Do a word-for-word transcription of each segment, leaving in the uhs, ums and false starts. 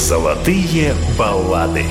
Золотые баллады.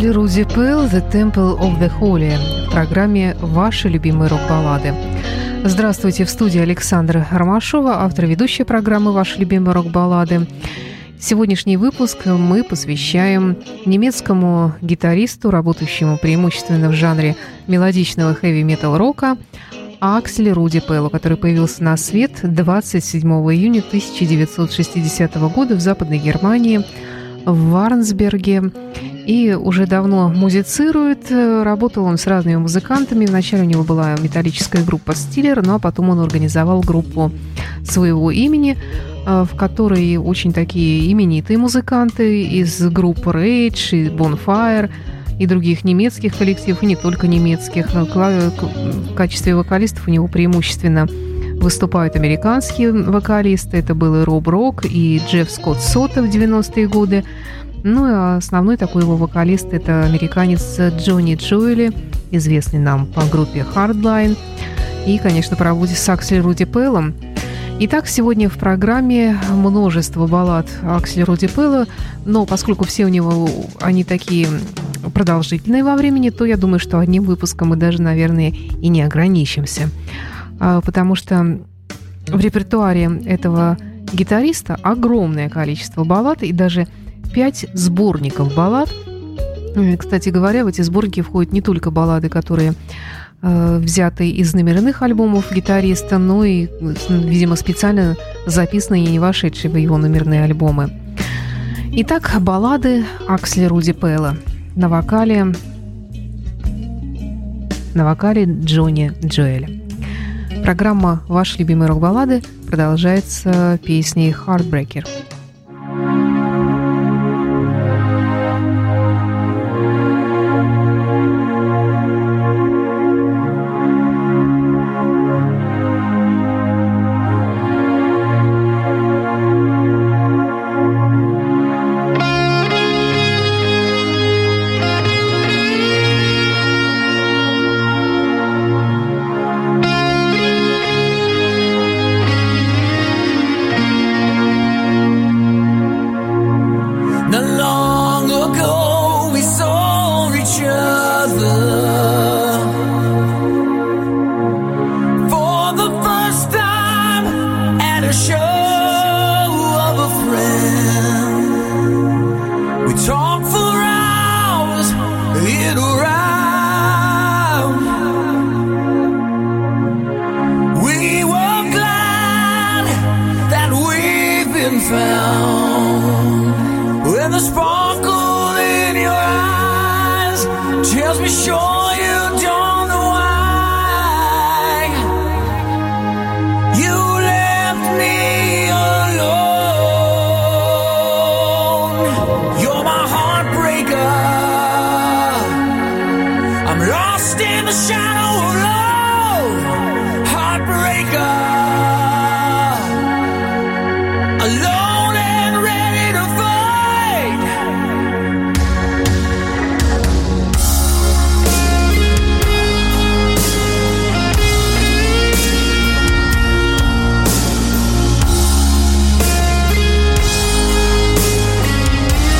Аксли Руди Пэл «The Temple of the Holy» в программе «Ваши любимые рок-баллады». Здравствуйте, в студии Александра Ромашова, автор ведущей программы «Ваши любимые рок-баллады». Сегодняшний выпуск мы посвящаем немецкому гитаристу, работающему преимущественно в жанре мелодичного хэви-метал-рока, Аксли Руди Пэлу, который появился на свет двадцать седьмого июня тысяча девятьсот шестидесятого года в Западной Германии, в Варнсберге, и уже давно музицирует. Работал он с разными музыкантами. Вначале у него была металлическая группа «Стиллер», ну а потом он организовал группу своего имени, в которой очень такие именитые музыканты из групп Rage и Bonfire и других немецких коллективов, и не только немецких. В качестве вокалистов у него преимущественно выступают американские вокалисты. Это был и Роб Рок, и Джефф Скотт Сота в девяностые годы. Ну и основной такой его вокалист – это американец Джонни Джоэли, известный нам по группе Hardline. И, конечно, по работе с Аксли Руди Пэлом. Итак, сегодня в программе множество баллад Аксли Руди Пэла, но поскольку все у него, они такие продолжительные во времени, то я думаю, что одним выпуском мы даже, наверное, и не ограничимся. Потому что в репертуаре этого гитариста огромное количество баллад и даже пять сборников баллад. Кстати говоря, в эти сборники входят не только баллады, которые э, взяты из номерных альбомов гитариста, но и, видимо, специально записанные и не вошедшие в его номерные альбомы. Итак, баллады Аксли Руди Пэла на вокале, на вокале Джонни Джоэля. Программа «Ваши любимые рок-баллады» продолжается песней «Heartbreaker».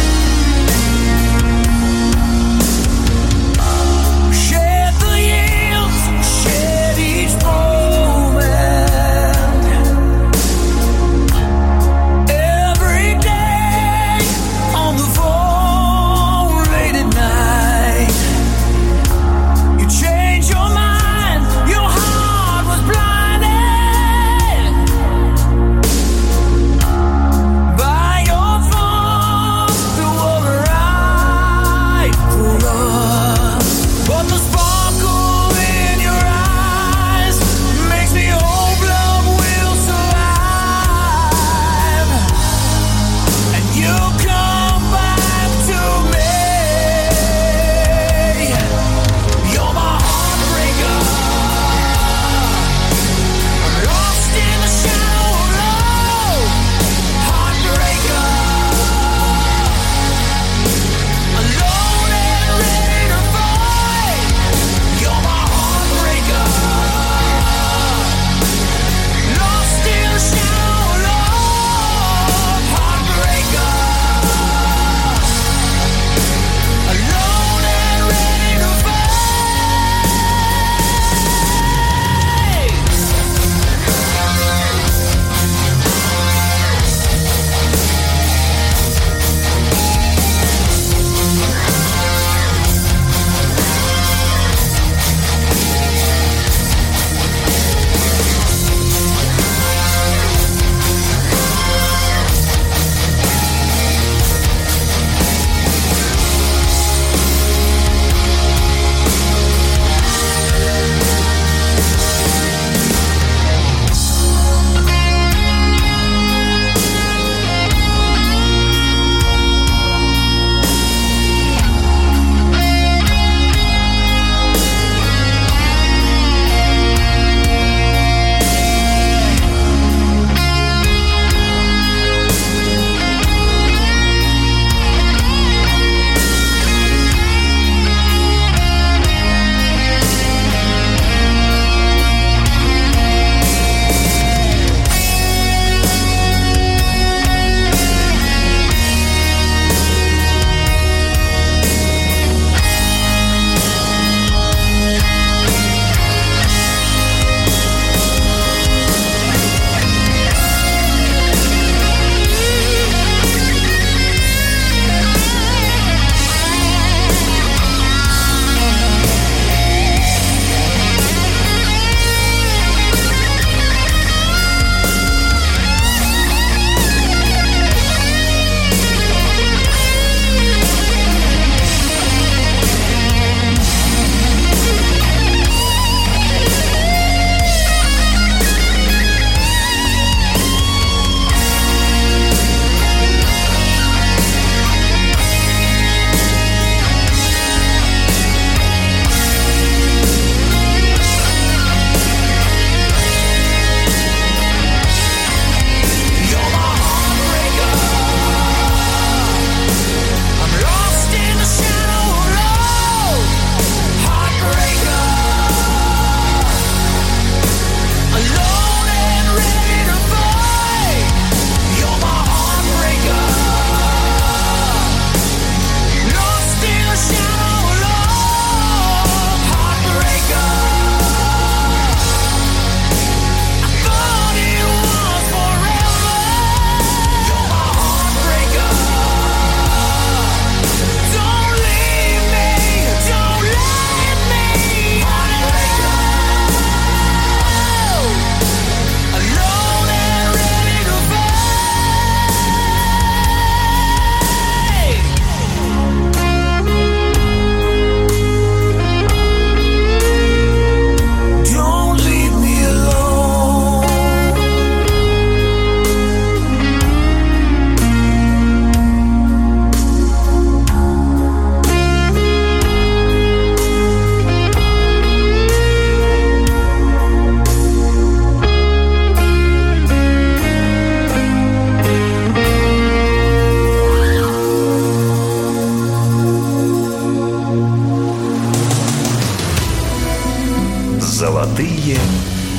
Shed the years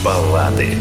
баллады.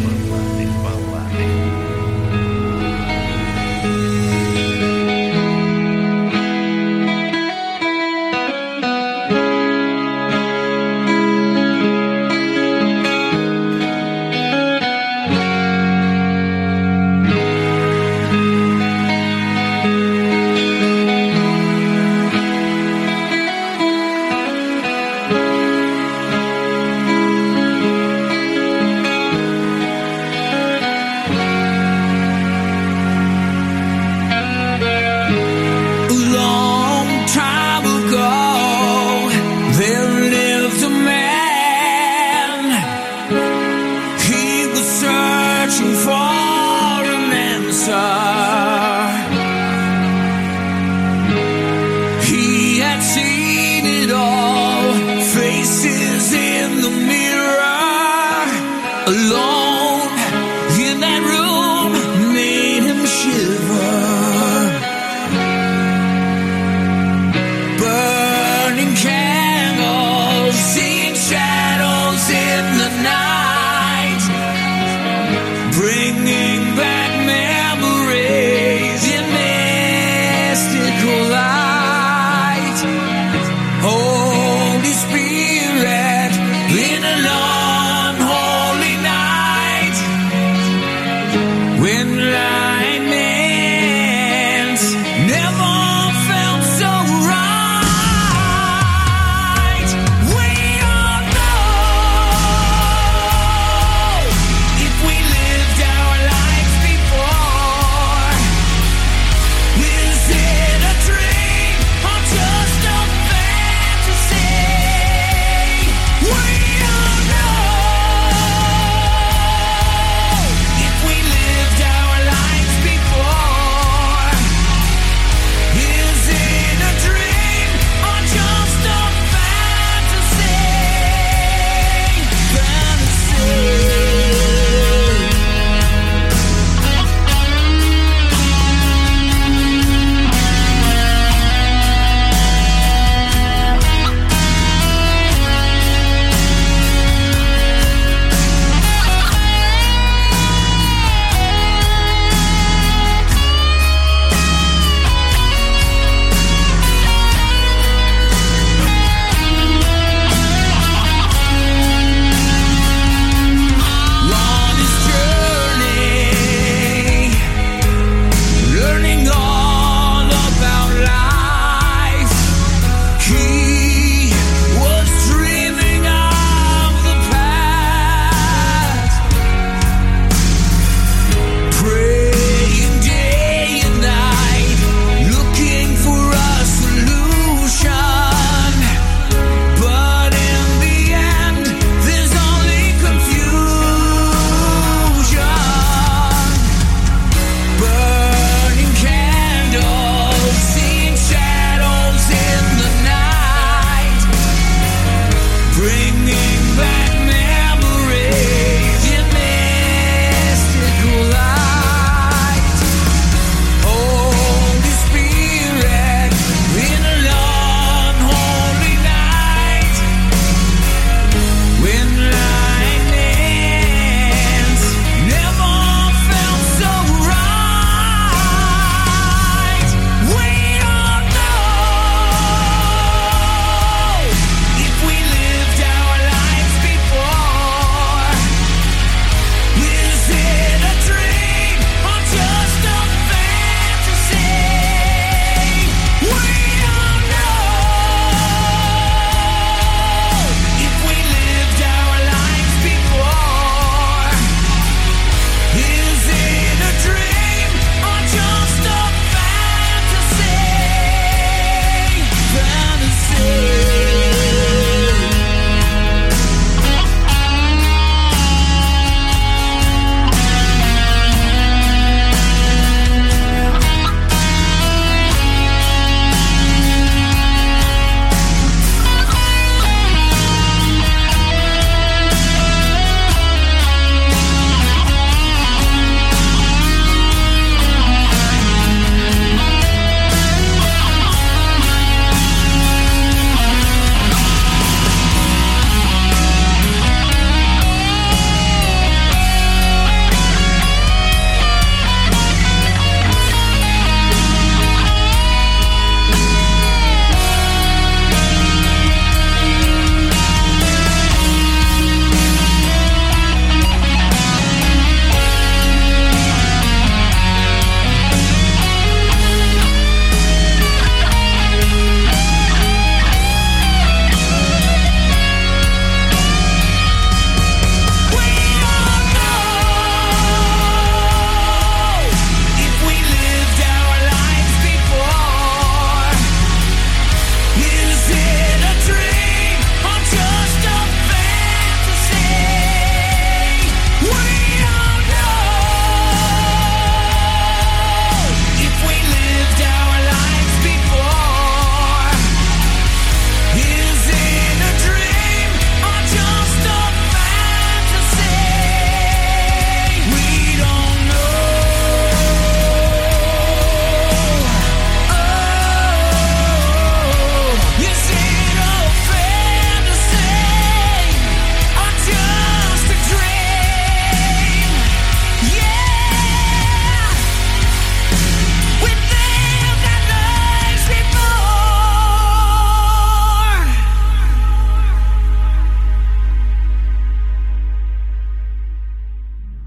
Oh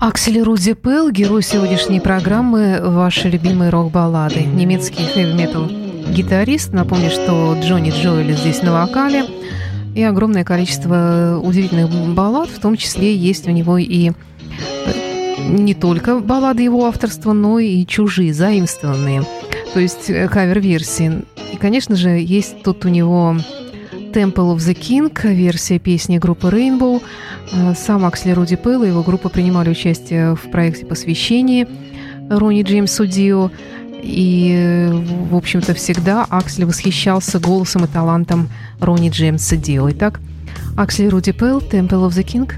Аксель Руди Пелл, герой сегодняшней программы «Ваши любимые рок-баллады». Немецкий хэви-метал гитарист. Напомню, что Джонни Джоэли здесь на вокале. И огромное количество удивительных баллад, в том числе есть у него и не только баллады его авторства, но и чужие, заимствованные, то есть кавер-версии. И, конечно же, есть тут у него Temple of the King, версия песни группы Rainbow. Сам Аксель Руди Пелл и его группа принимали участие в проекте посвящения Ронни Джеймсу Дио. И, в общем-то, всегда Аксель восхищался голосом и талантом Ронни Джеймса Дио. Итак, Аксель Руди Пелл, Temple of the King.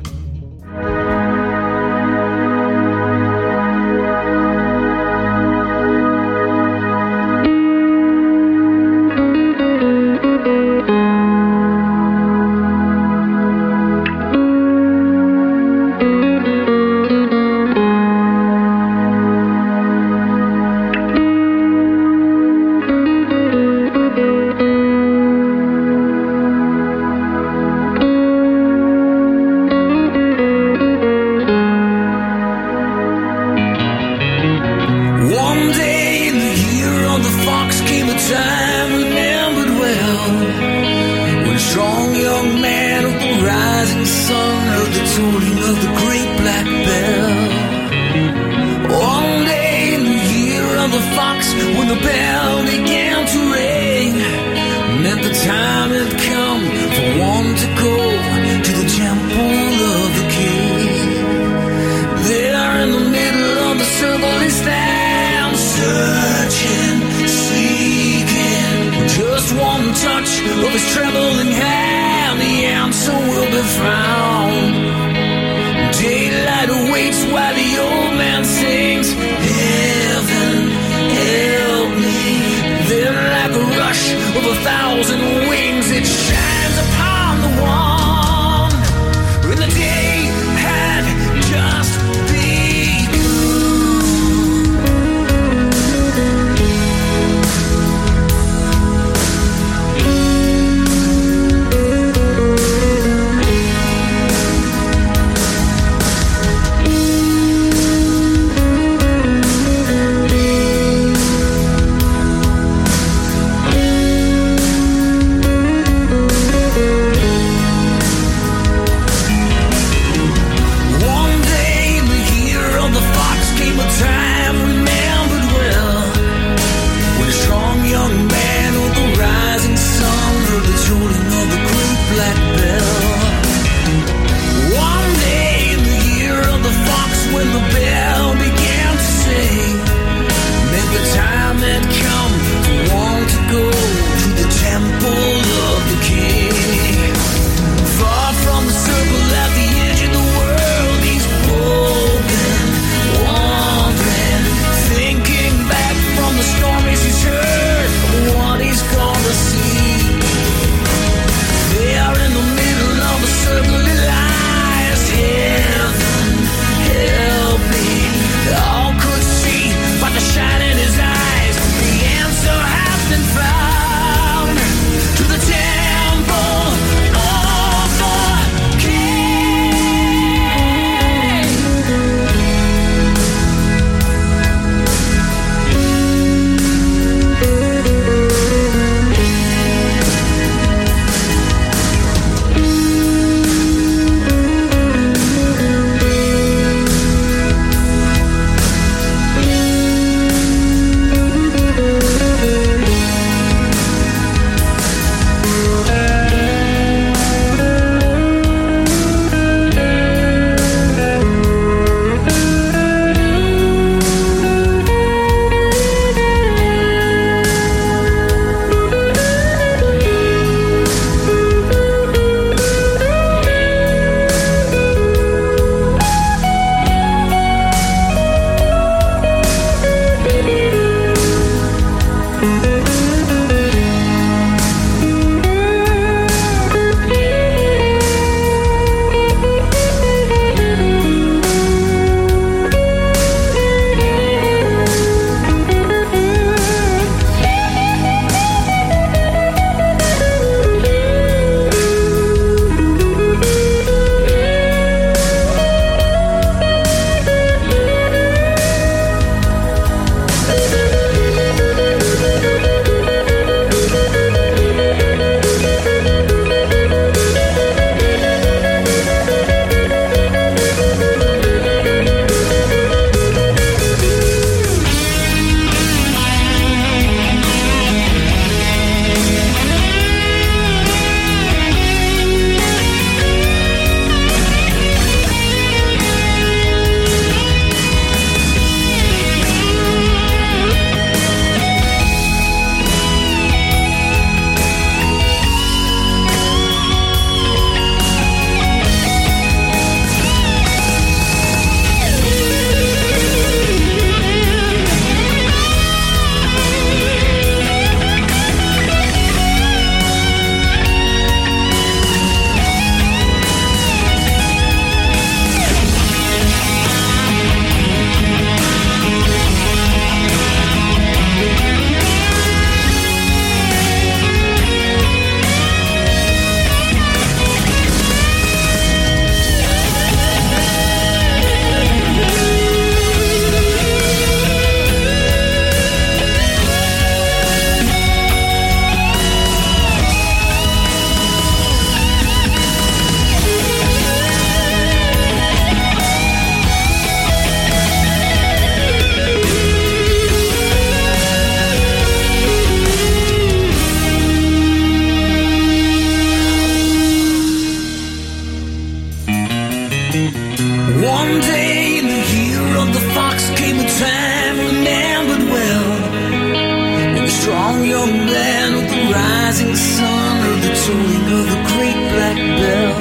strong young man of the rising sun, heard the tolling of the great black bell.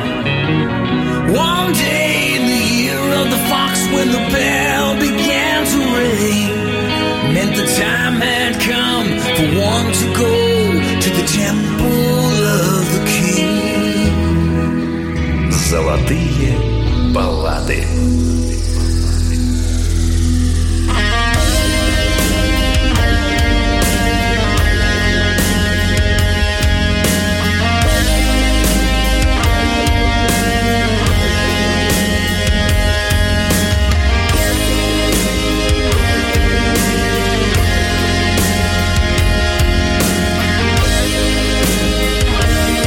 One day in the year of the fox, when the bell began to ring, meant the time had come for one to go to the temple of the king. Золотые баллады.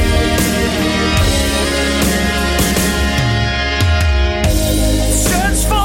Search for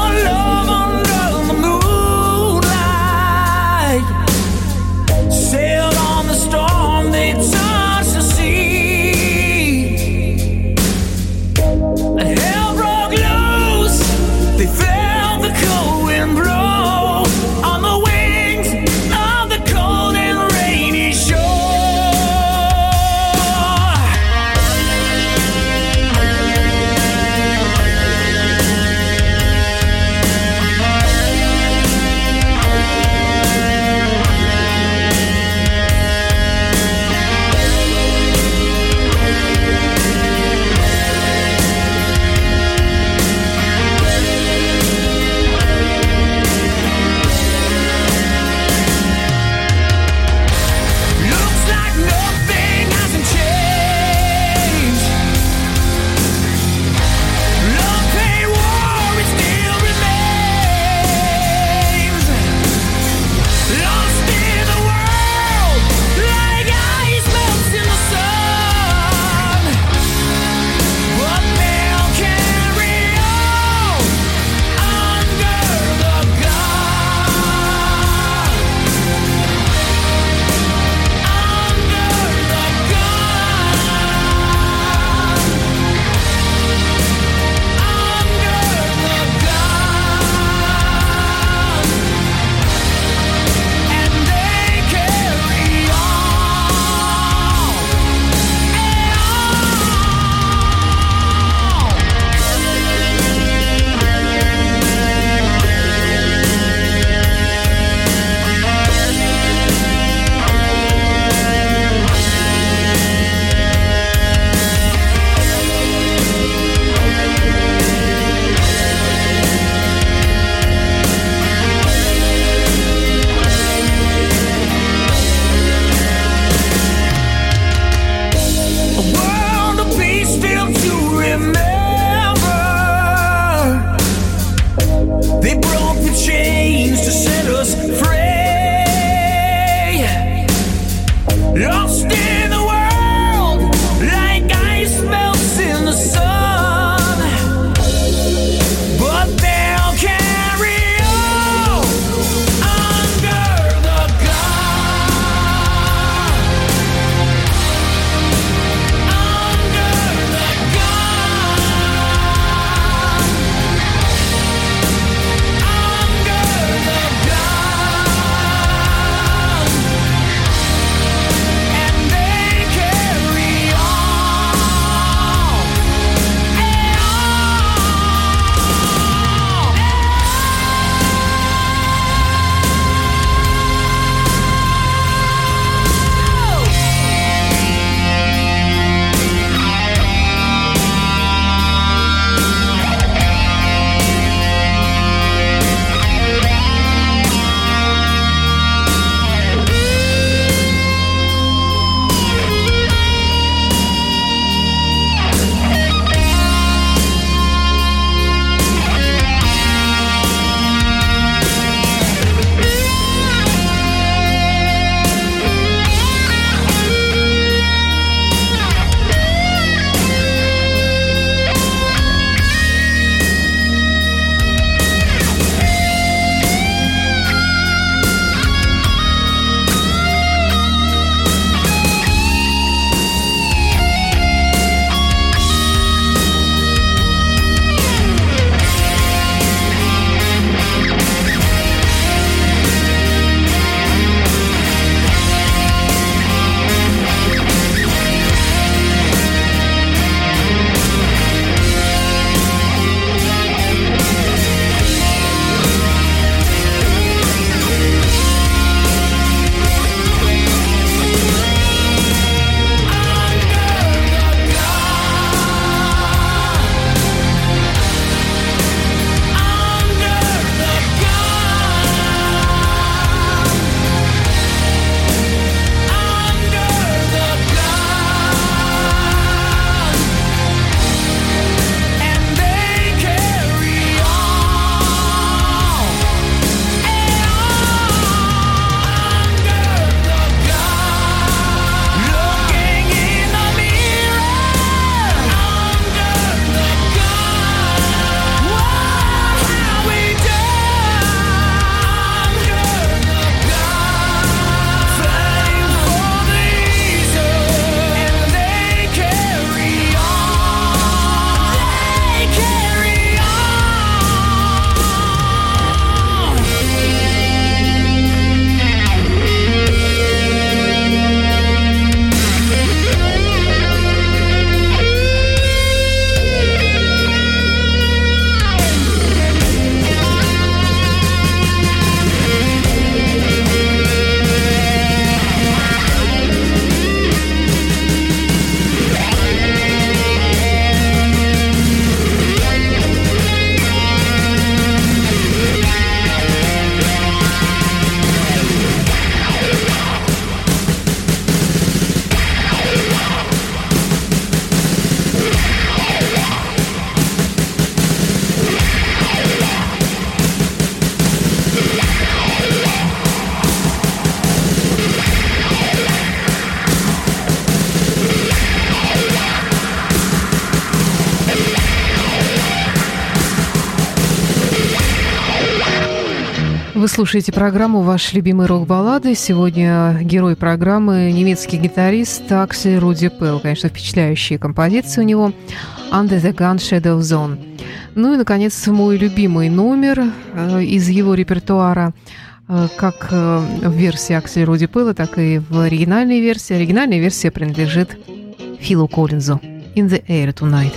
Вы слушаете программу «Ваши любимые рок-баллады». Сегодня герой программы – немецкий гитарист Аксель Руди Пелл. Конечно, впечатляющие композиции у него «Under the Gun Shadow Zone». Ну и, наконец, мой любимый номер из его репертуара, как в версии Акселя Руди Пелла, так и в оригинальной версии. Оригинальная версия принадлежит Филу Коллинзу «In the Air Tonight».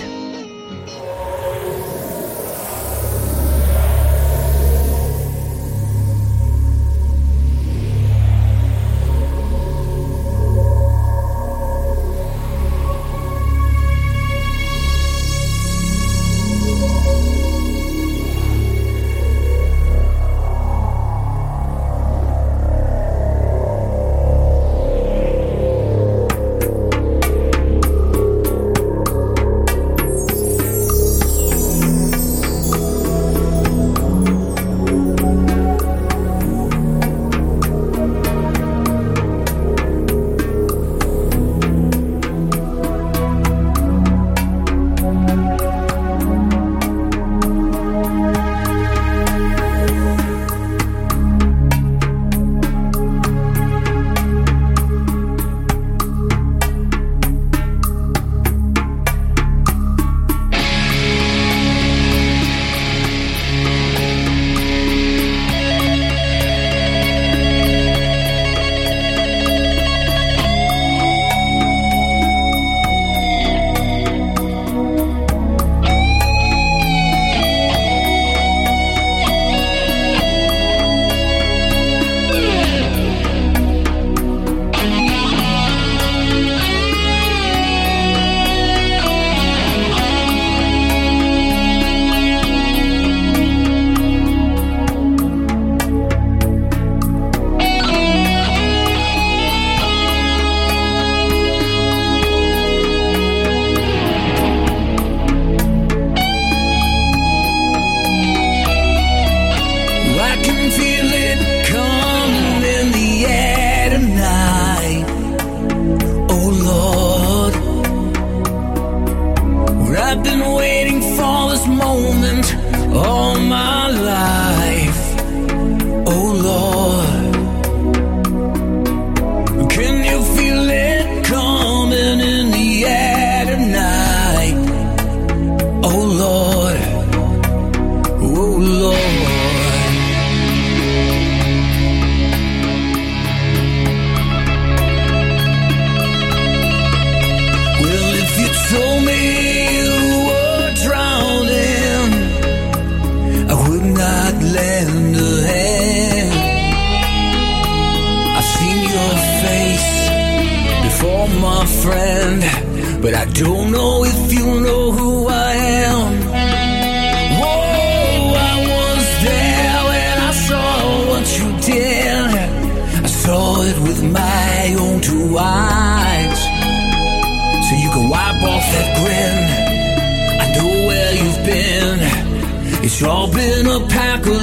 It's all been a pack of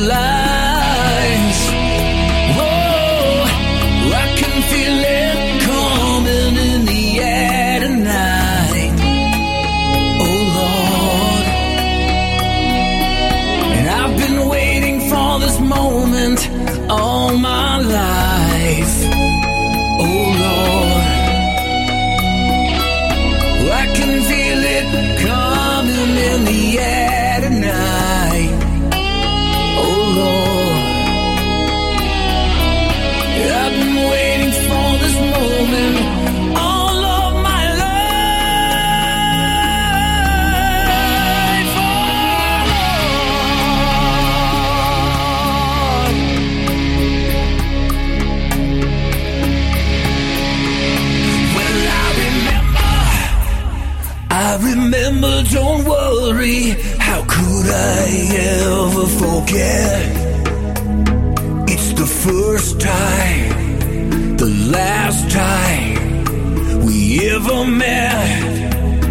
lies. Whoa, I can feel it coming in the air tonight. Oh Lord, and I've been waiting for this moment all my life. Oh Lord, I can feel it coming in the air tonight. I've been waiting for this moment all of my life. Oh, well, I remember, I remember, don't worry, how could I ever forget? It's the first time, the last time we ever met.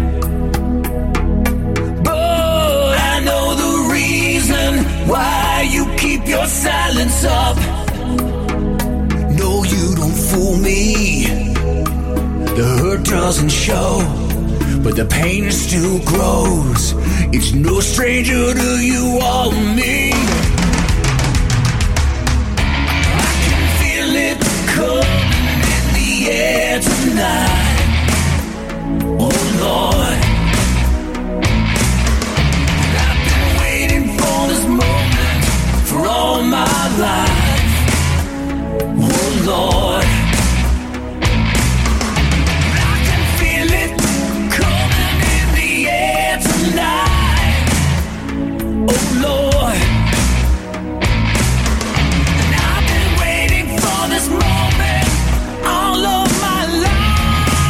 But I know the reason why you keep your silence up. No, you don't fool me. The hurt doesn't show, but the pain still grows. It's no stranger to you or me. tonight. Oh Lord, I've been waiting for this moment for all my life. Oh Lord, I can feel it coming in the air tonight. Oh Lord, and I've been waiting for this moment all of my life.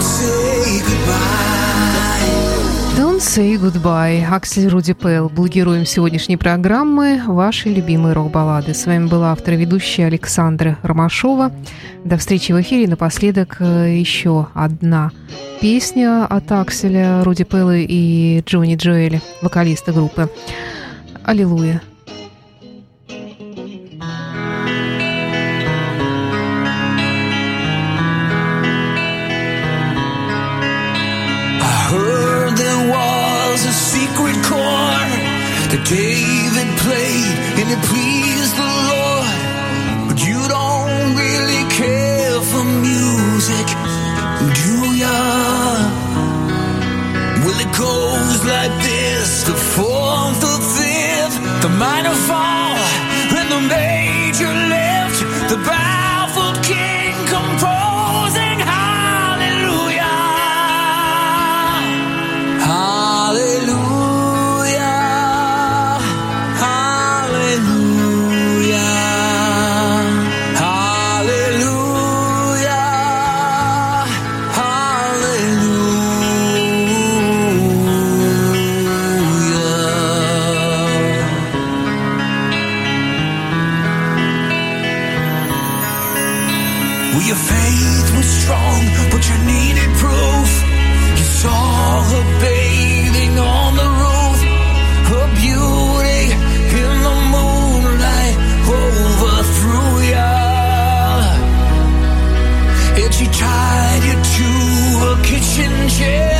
say goodbye. Don't say goodbye. Аксель Руди Пэл был героем сегодняшней программы «Ваши любимые рок-баллады». С вами была автор и ведущая Александра Ромашова. До встречи в эфире. Напоследок еще одна песня от Акселя Руди Пэла и Джонни Джоэля, вокалиста группы. Аллилуйя. That David played and it pleased the Lord, but you don't really care for music, do ya? Well, it goes like this: the fourth, the fifth, the minor fall, and the major lift, the baffled king composing hallelujah, hallelujah. Your faith was strong, but you needed proof. You saw her bathing on the roof, her beauty in the moonlight overthrew ya, and she tied you to a kitchen chair.